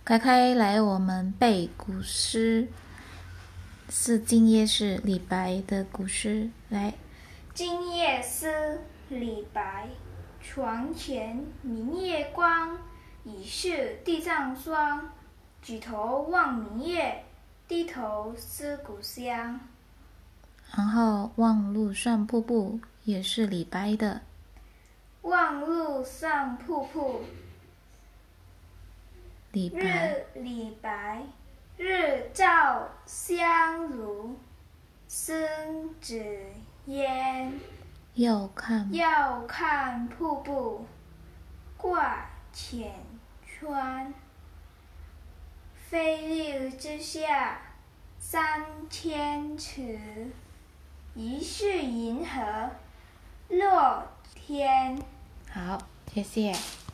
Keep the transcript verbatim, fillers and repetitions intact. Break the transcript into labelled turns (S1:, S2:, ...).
S1: 开开来，我们背古诗。是今夜是李白的古诗，来。
S2: 今夜思李白，床前明月光，疑是地上霜。举头望明月，低头思故乡。
S1: 然后望路上瀑布也是李白的。
S2: 望路上瀑布，
S1: 李白。
S2: 日李白，日照香炉，生紫烟。
S1: 要看
S2: 要看瀑布，挂浅川。飞流直下三千尺，疑是银河落天。
S1: 好，谢谢。